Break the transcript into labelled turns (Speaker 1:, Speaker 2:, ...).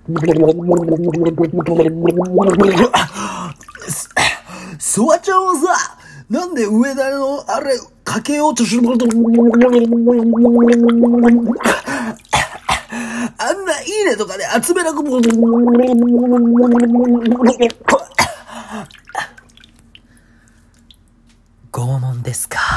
Speaker 1: ソワちゃんはさ、なんで上田のあれかけようとすることあんないいねとかで集めなくも拷問ですか。